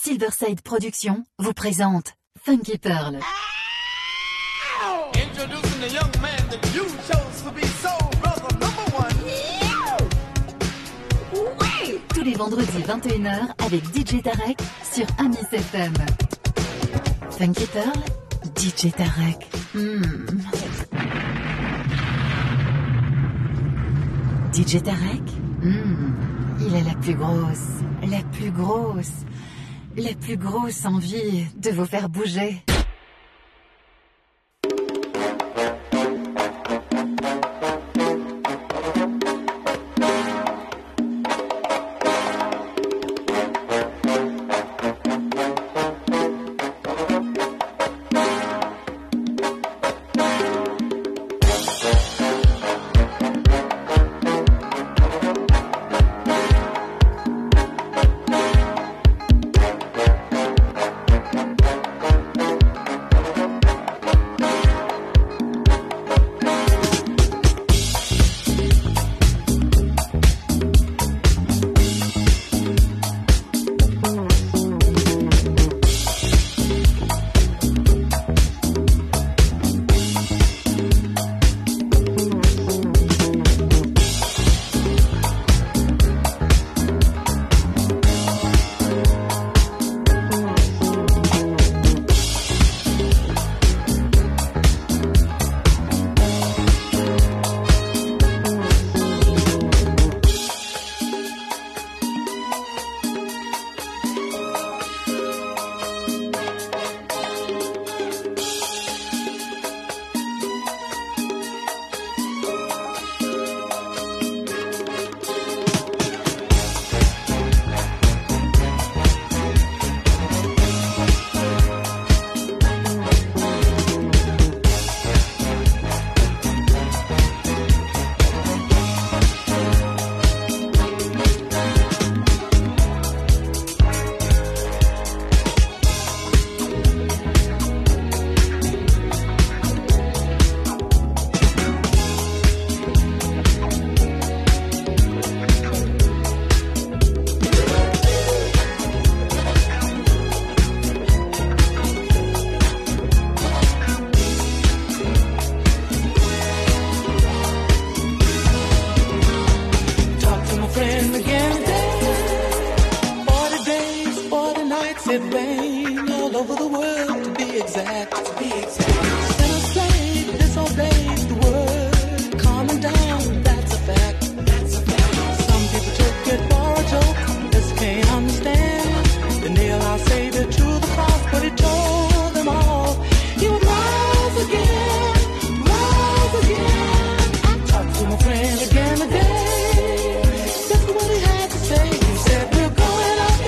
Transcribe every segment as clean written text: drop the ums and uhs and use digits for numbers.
Silverside Productions vous présente Funky Pearl. Introducing the young man that you chose to be soul brother number one. Tous les vendredis 21h avec DJ Tarek sur Amis FM. Funky Pearl, DJ Tarek. DJ Tarek, il a la plus grosse envie de vous faire bouger.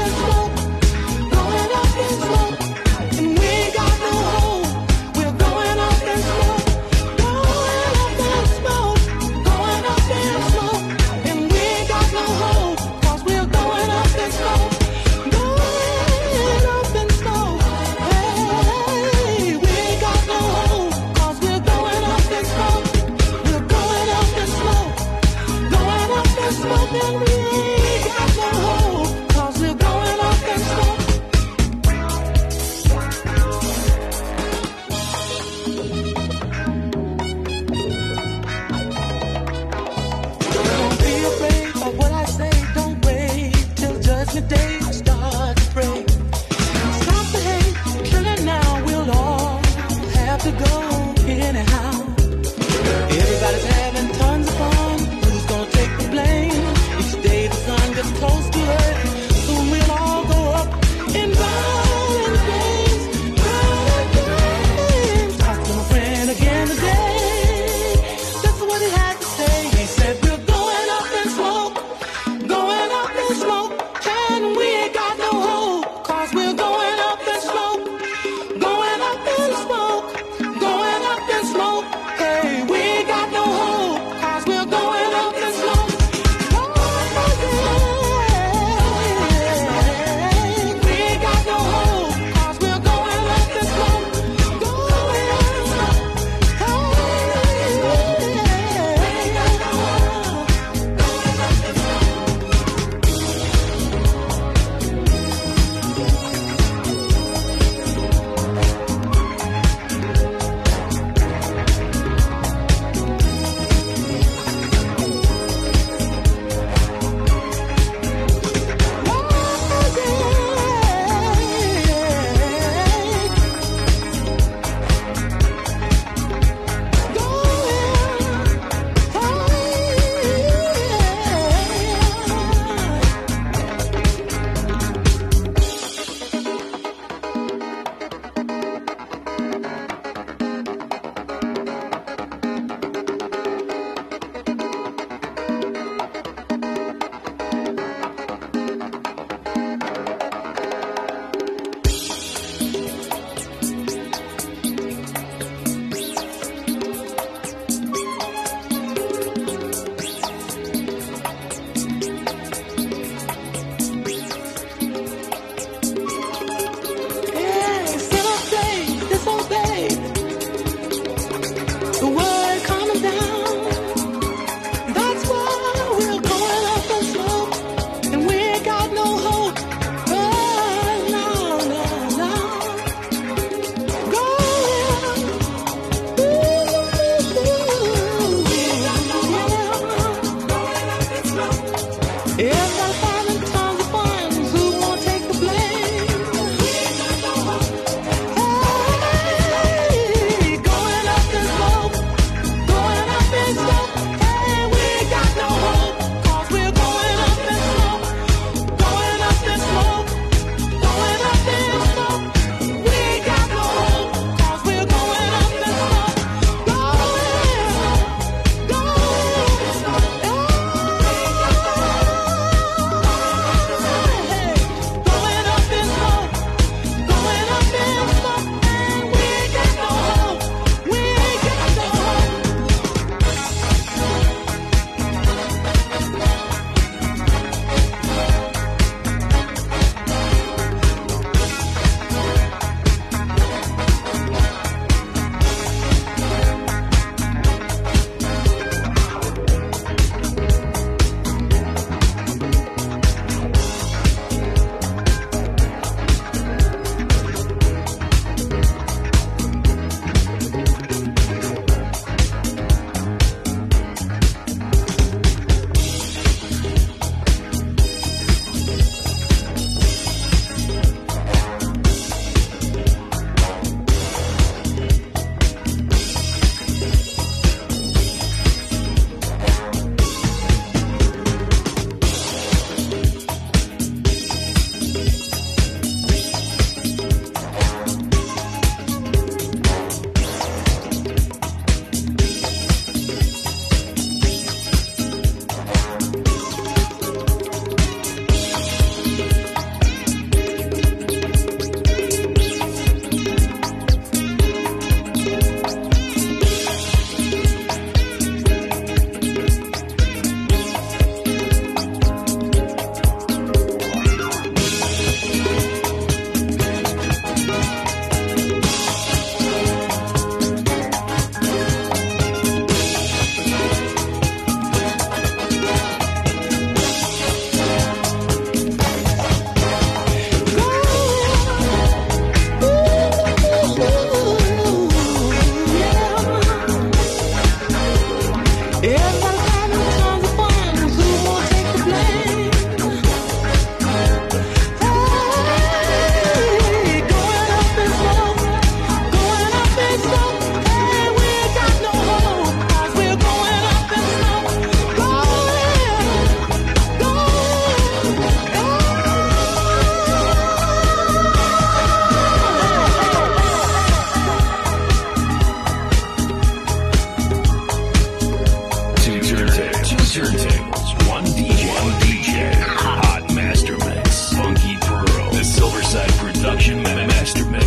Going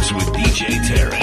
mix with DJ Tarek.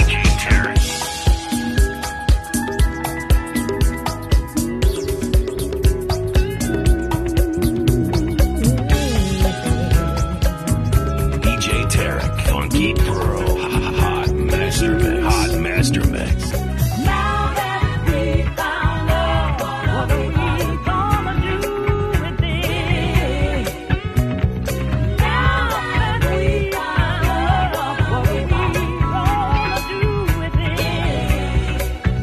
Funky Pearl, Hot Master Mix. Hot Master Mix. Now that we found love, what are we gonna do with it? Now that we found love, what are we gonna do with it?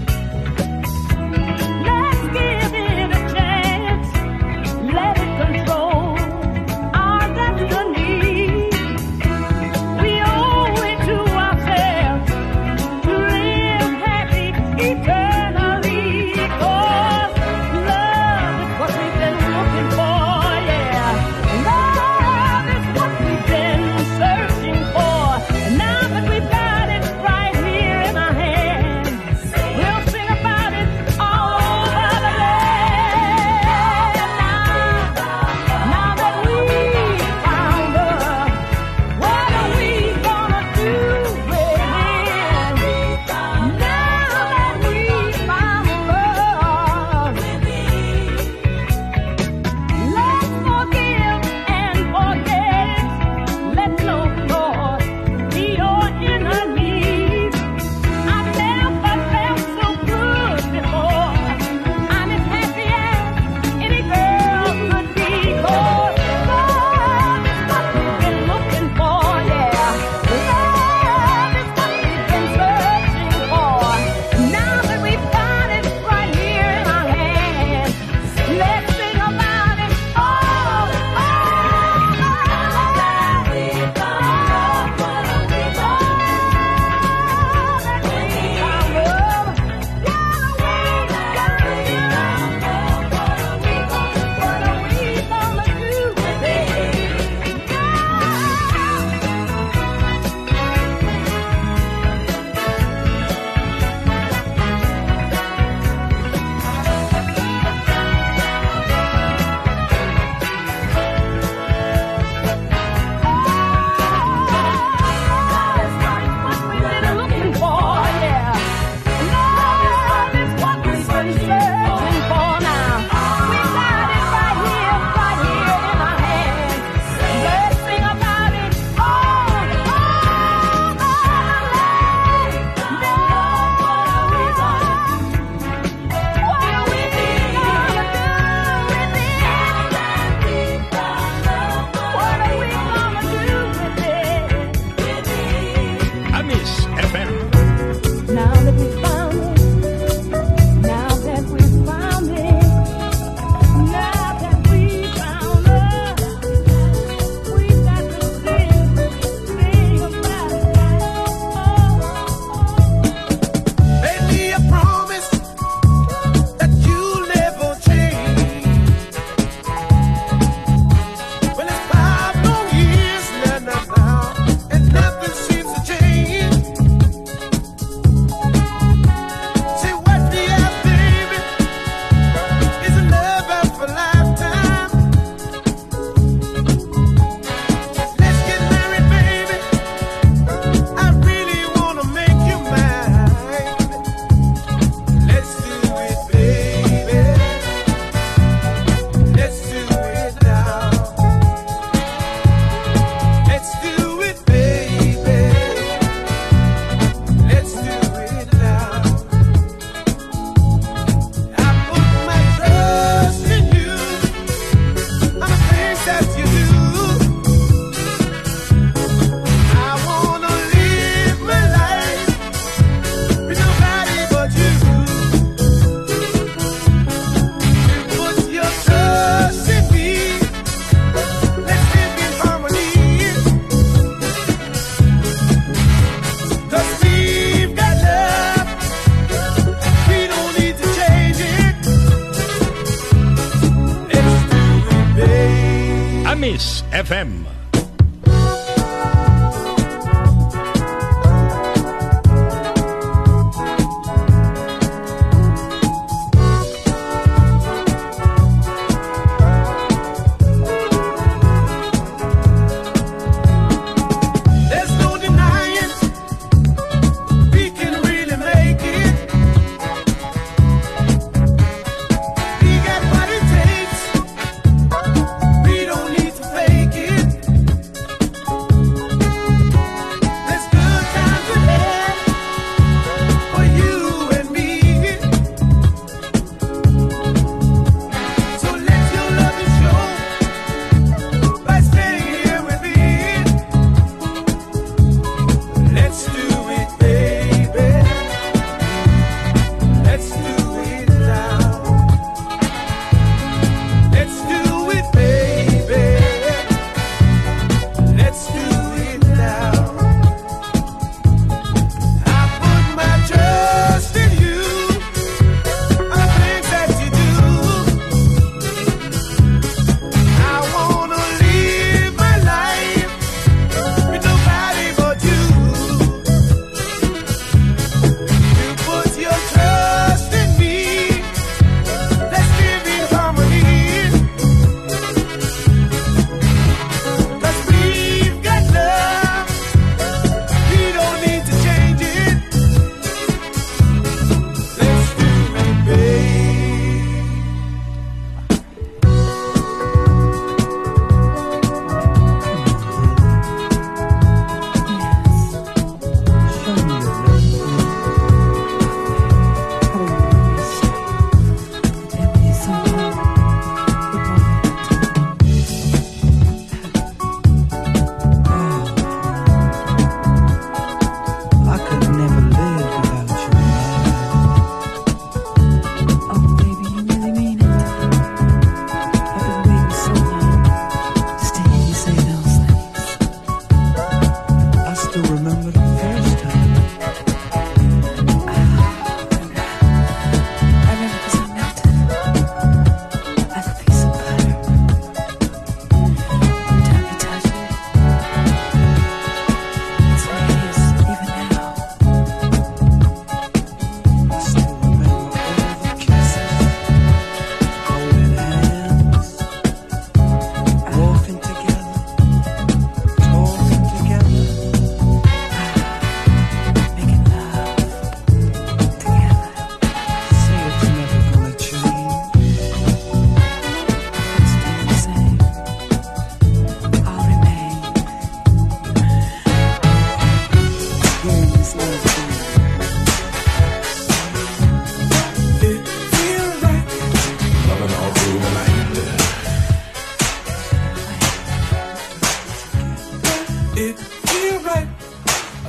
Let's give it a chance, let it control our destiny. Miss FM.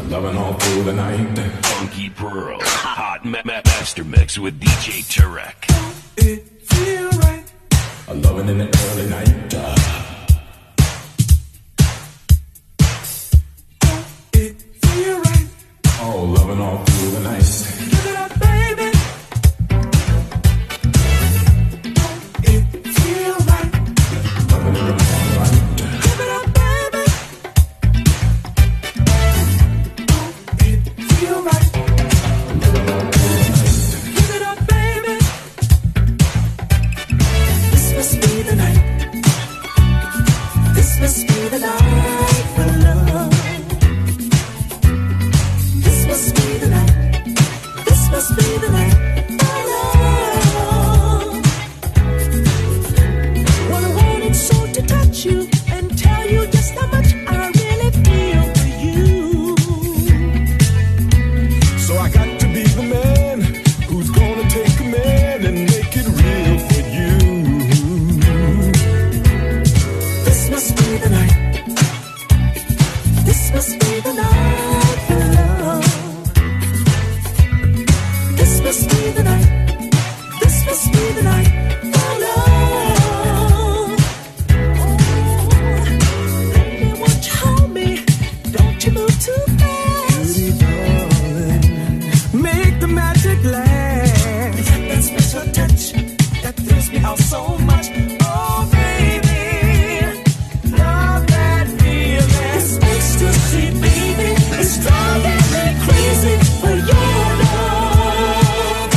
Loving all through the night. Funky Pearl, hot master mix with DJ Tarek. It feel right. Loving in the early night. It feel right. Oh, loving all through the night. Give it up, baby. It feel right. Loving in the moonlight. Give it up, baby. It feel right. Loving all through the night. Give it up, baby. This must be the night. This must be the night for love. This must be the night. This must be the night for love. Well, I wanted so to touch you and tell you just how much I really feel for you. So I got to be the man who's gonna take command and make it real for you. This must be the night. This must be the night for love. This must be the night. This must be the night for love. Baby, won't you hold me? Don't you move too fast. Pretty darling, make the magic last. That special touch that thrills me out so much. Oh, baby, love that feeling. This ecstasy, baby, is driving me crazy for your love.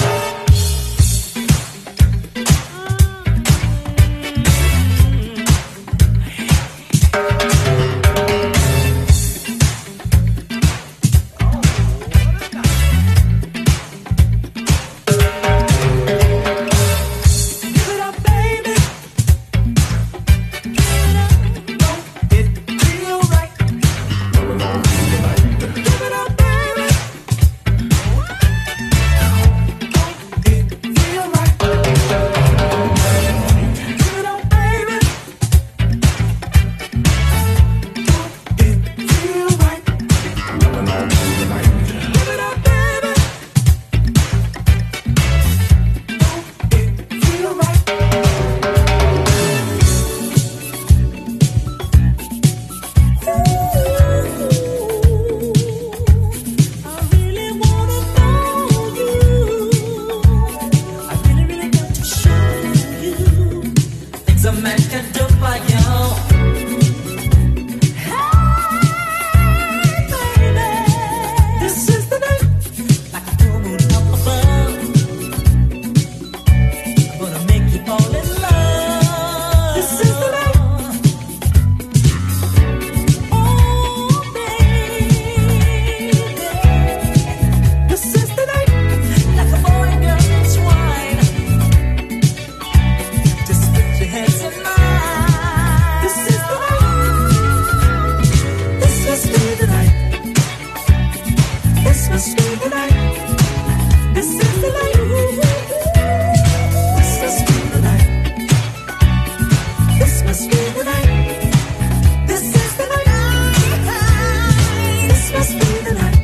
Give it up, baby. Give it up. Don't it feel right? Give it up, baby. Don't it feel right? Give it up, baby. Don't it feel right? Give it up, baby. Don't it feel right? I really wanna know you. I really got to show you things a man can do by you. Hey, baby, this is the night. Like a full moon up above, I'm gonna make you fall in love. This is the night. Oh, baby, this is the night. Like a boy and girl entwined. Just put your hands in mine. This is the night. This must be the night. This must be the night. This is the night. This must be the night. This must be the night. This is the night. This must be the night.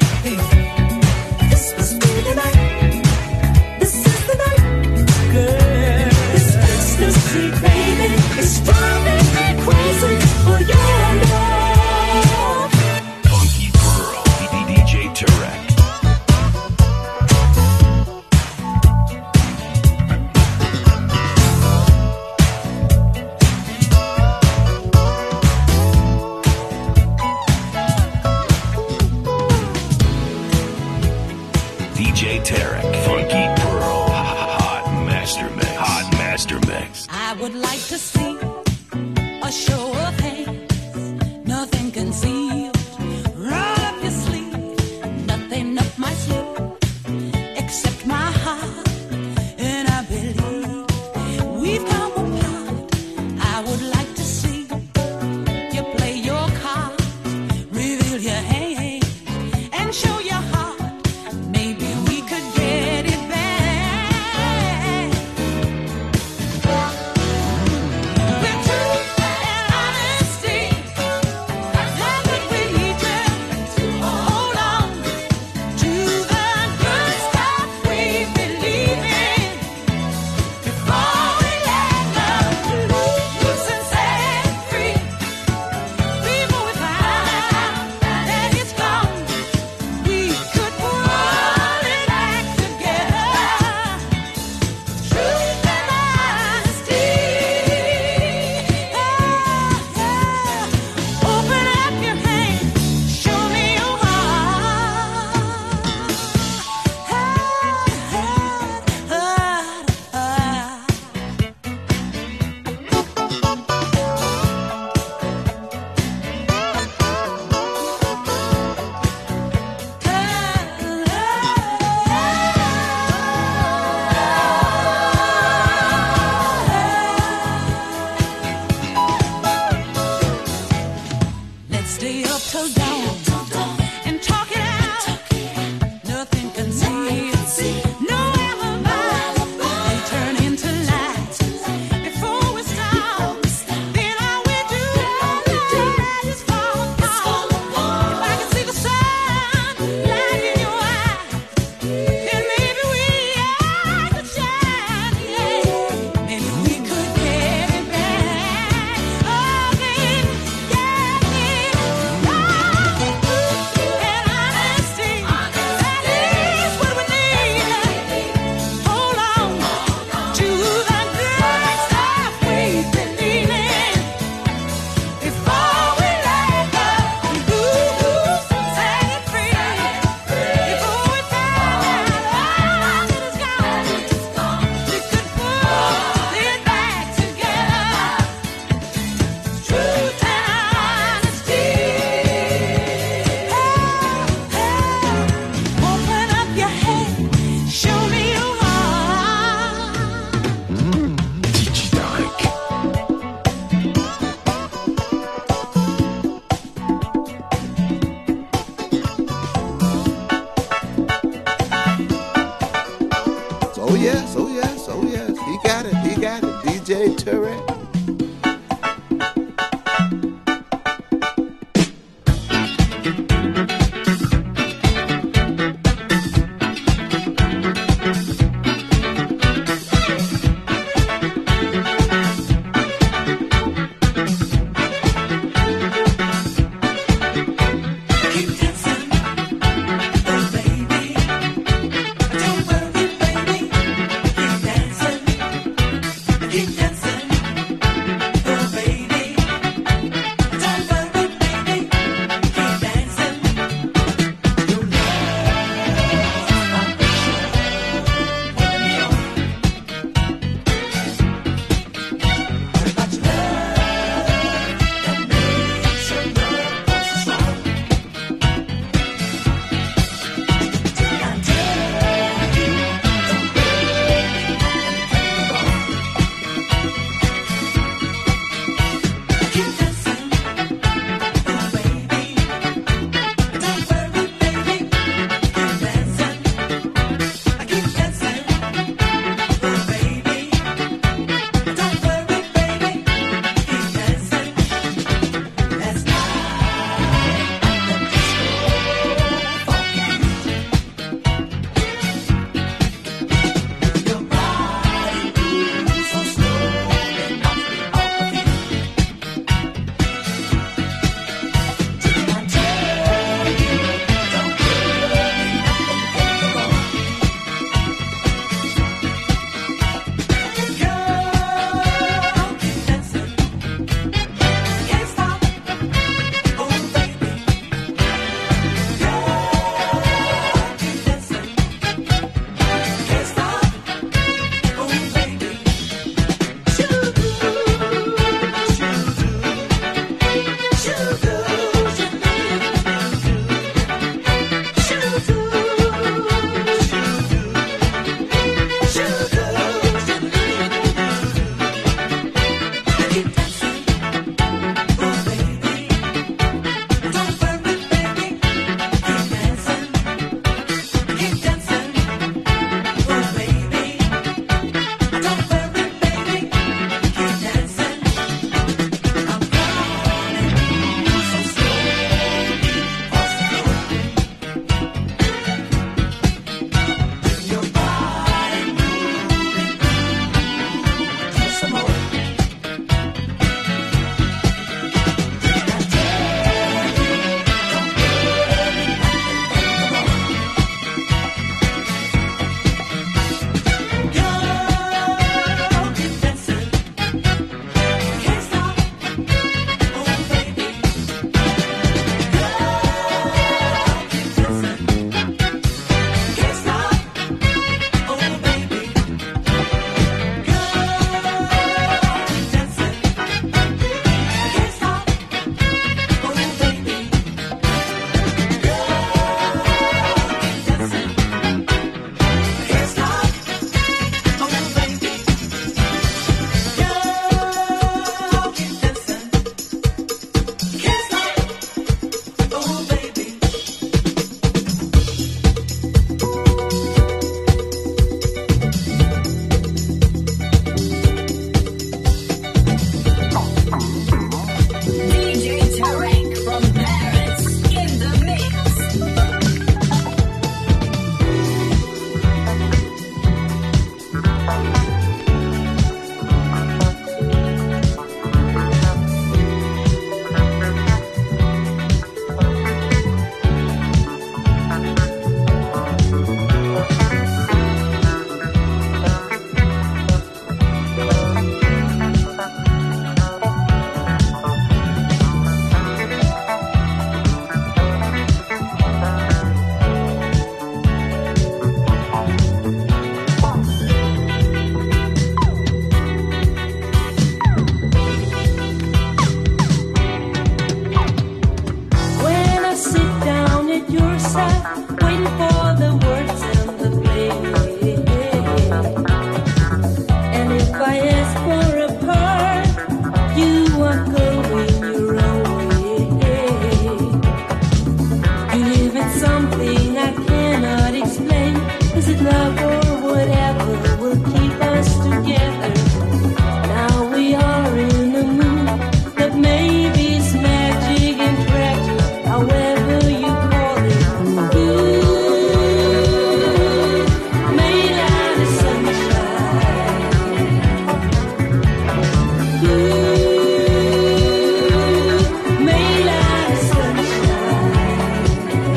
This must be the night. This is the night. Girl, this ecstasy, baby, is driving me crazy for your love. Funky Pearl, DJ Tarek. DJ Tarek, Funky Pearl, hot master mix. I would like to see a show of hands, nothing concealed. Roll up your sleeve, nothing up my sleeve, except my heart. And I believe we've come apart. I would like to see you play your cards, reveal your hand, and show your heart. Maybe we could get it back. With truth and honesty, that's what we need to and talk it out. Nothing concealed, no alibi. They turn into lies before we stop. Then all we do is fall apart. If I can see the sun light in your eyes, then maybe I could shine. Yeah, maybe we could get it back. Oh, baby, yeah, yeah. yourself, waiting for the words and the play. And if I ask for a part, you are going your own way. You live in something I cannot explain. Is it love or whatever will keep us together? Now we are in a mood that maybe is magic and tragic, however you call it. Ooh, made out of sunshine. Ooh, made out of sunshine.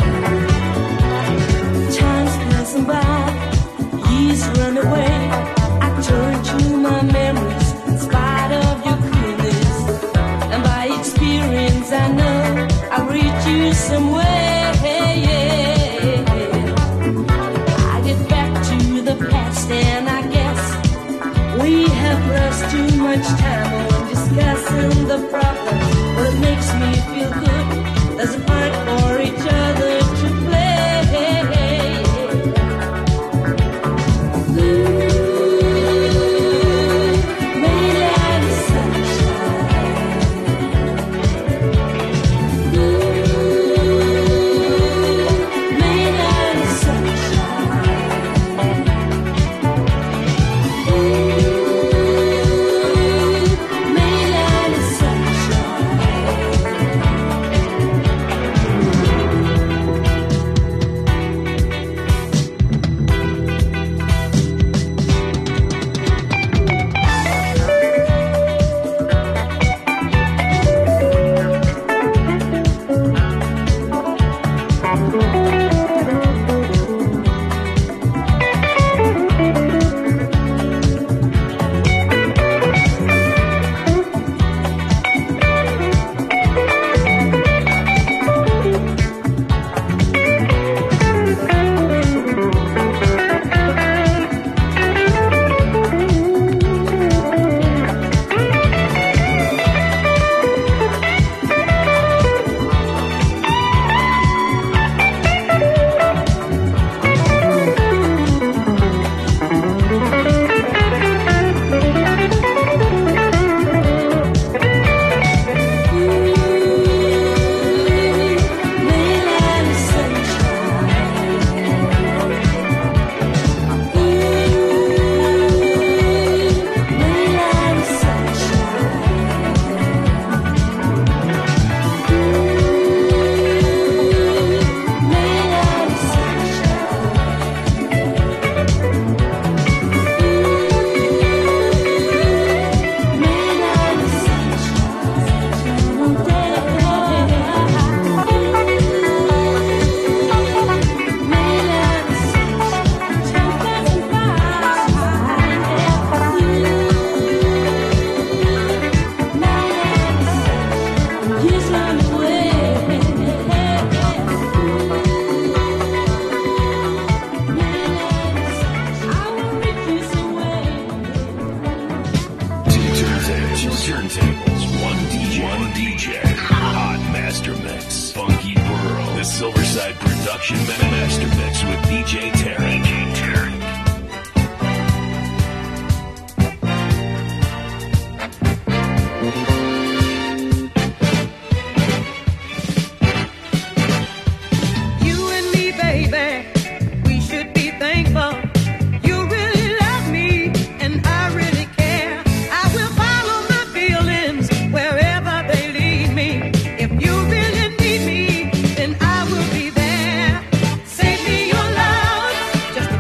Time's passing by, years run away. I turn to my memories in spite of your coolness. And by experience I know I'll reach you some way. I get back to the past and I guess we have lost too much time on discussing the problem. What makes me feel good, there's a part for each other to play. Made out of sunshine. Made out of sunshine. Made out of Silverside Production Master Mix with DJ Tarek. You and me, baby, we should be thankful. You really love me, and I really care. I will follow my feelings wherever they lead me. If you really need me, then I will be there. Save me your love, just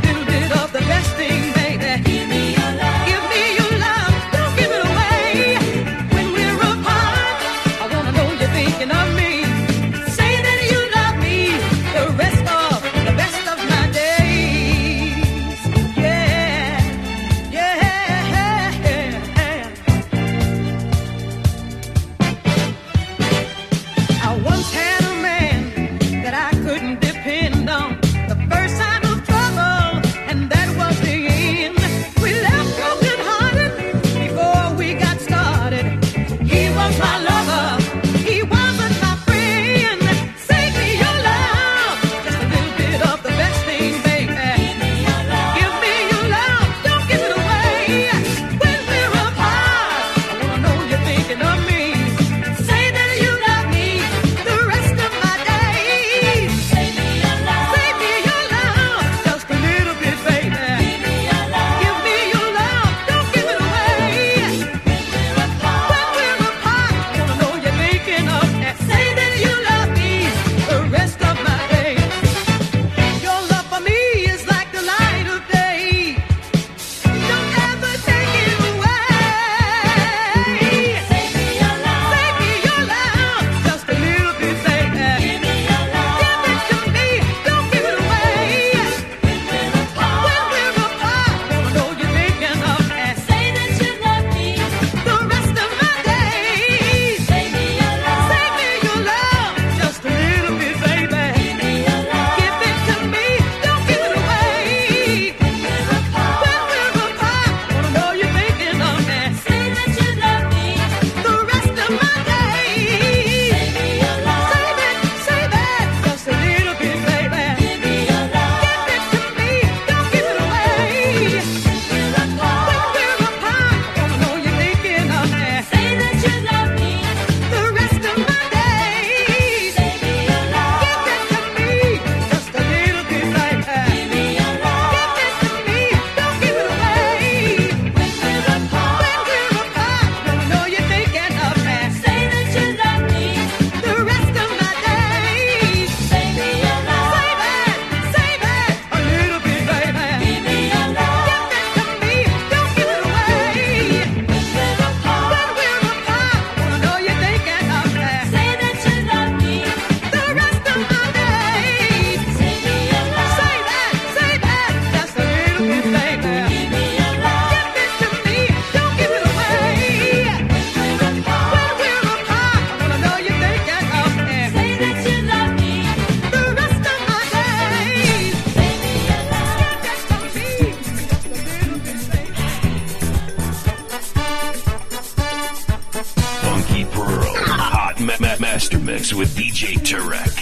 mix with DJ Tarek.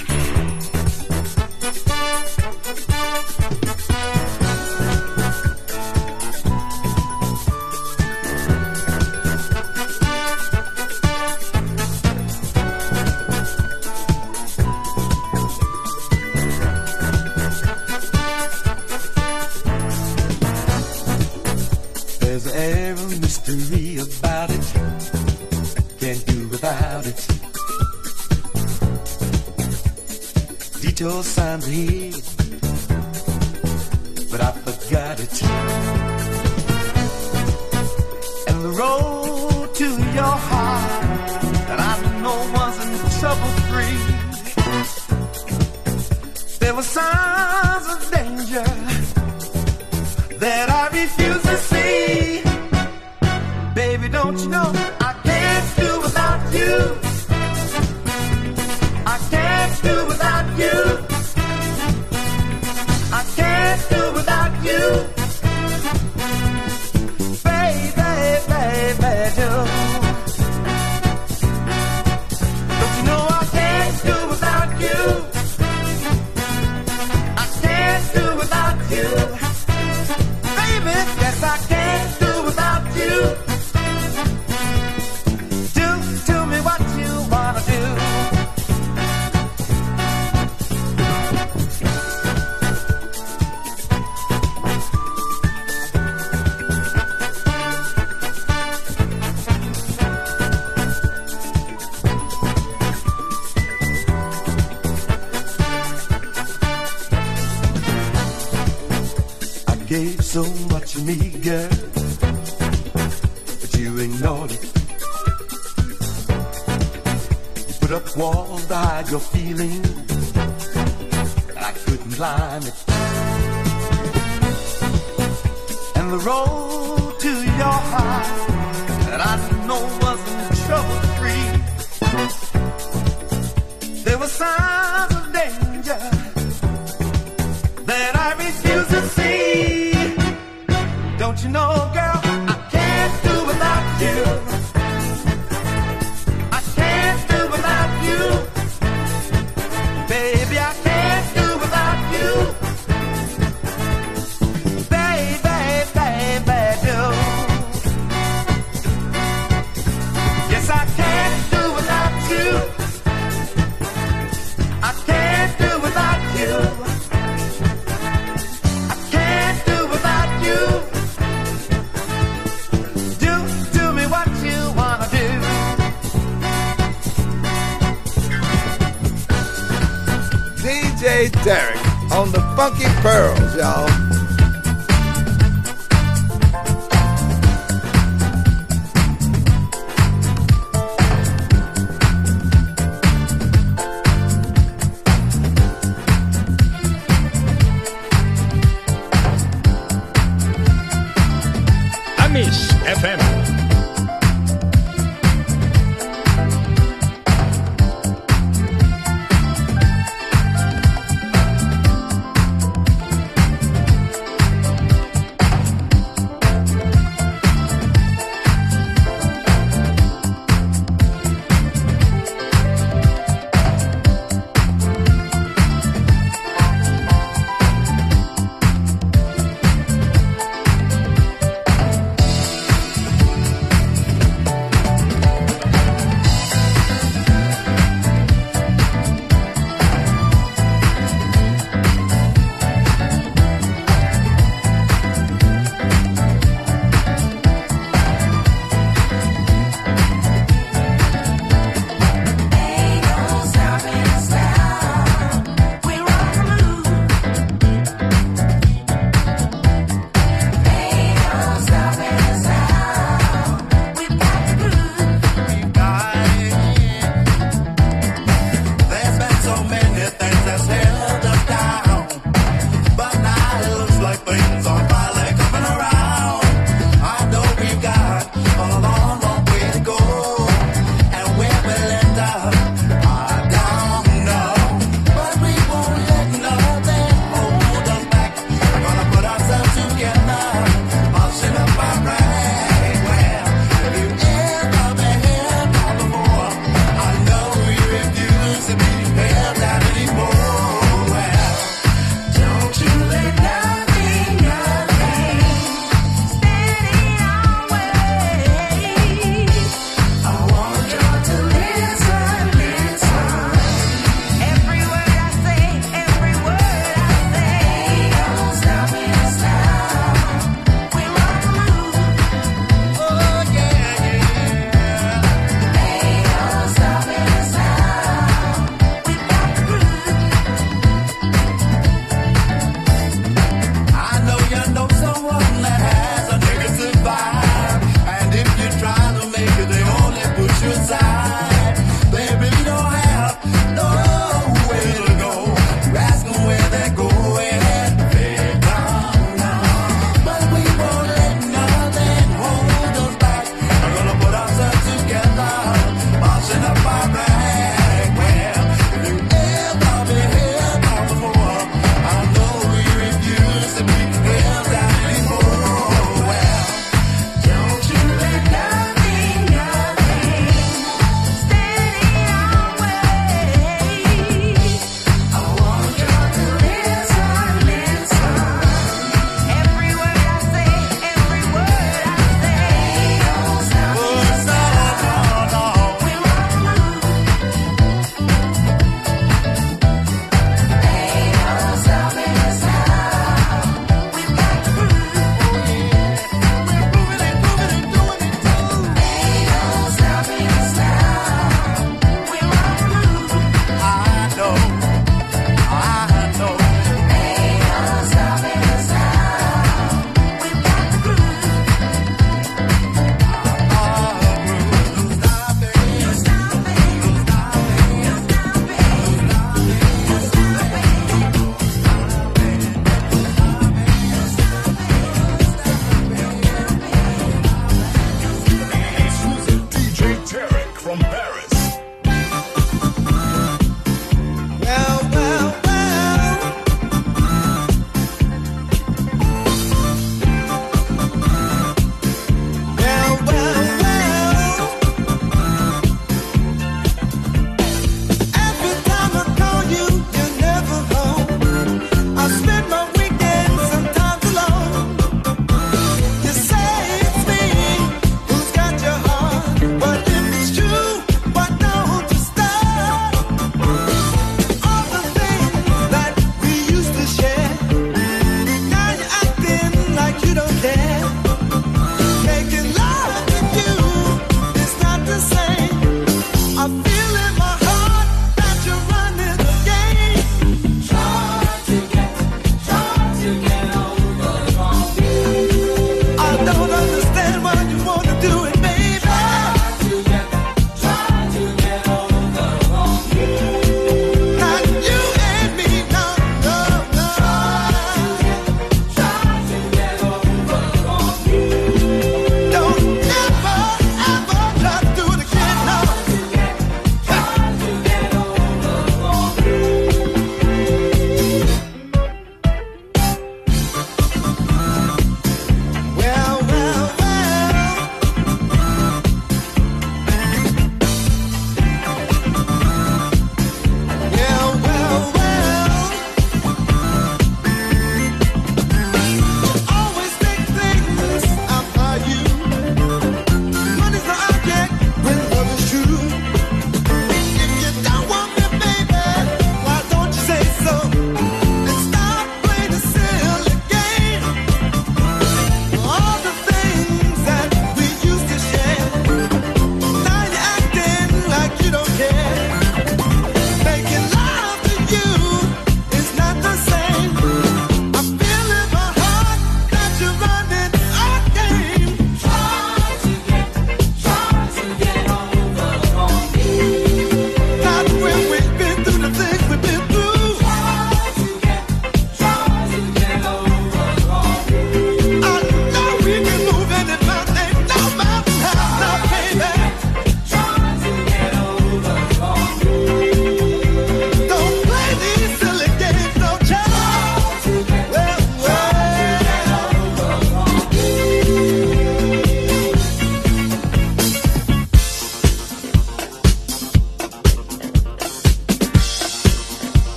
There's an air of mystery about it. Can't do without it. Detour signs are here, but I forgot it. And the road to your heart that I know wasn't trouble-free. There were signs of danger that I refuse to see. Baby, don't you know I can't do without you. I can't do without you. I can't do without you. Baby, baby, don't you know I can't do without you. I can't do without you. Baby, yes, I can't do without you. Do me what you wanna do. I gave so much of me, girl, but you ignored it. You put up walls to hide your feelings, and I couldn't climb it. And the road to your heart that I know wasn't trouble-free. There were signs of danger that I refuse to see. Don't you know, girl, I can't do without you. I can't do without you. Baby, I can't do without you. Baby, baby, do. Yes, I can't do without you. I can't do without you. I can't do without you. Do me what you wanna do. DJ Tarek on the Funky Pearls, y'all. Amis FM.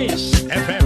Miss FM.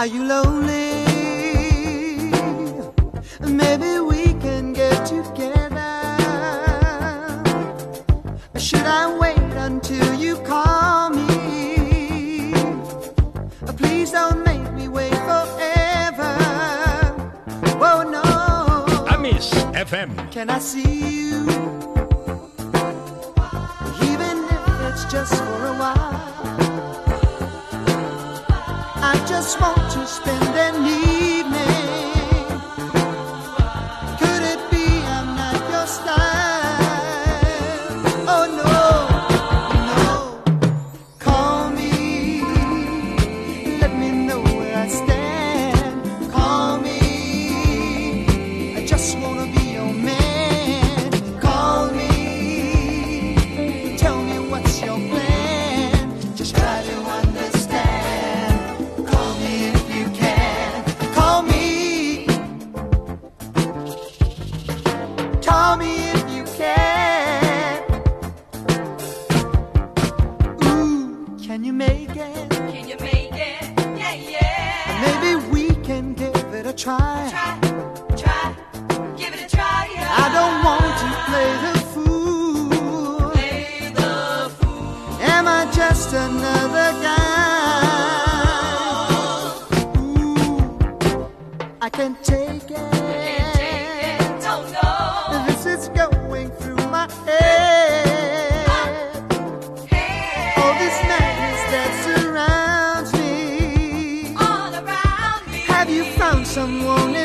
Are you lonely? Maybe we can get together. Should I wait until you call me? Please don't make me wait forever. Oh no. Amis FM. Can I see you? Even if it's just for a while. I just want to spend an evening. Could it be I'm not your style? Oh no, no. Call me, let me know where I stand. Call me, I just wanna be your man. Call me, tell me what's your plan. Just try to understand. Call me if you can. Call me. Call me if you can. Ooh, can you make it? Can you make it? Yeah, yeah. Maybe we can give it a try. Try, give it a try. Yeah. I don't want to play the fool. Play the fool. Am I just another guy? Ooh, I can't take it. Don't know. This is going through my head. All this madness that surrounds me. All around me. Have you found someone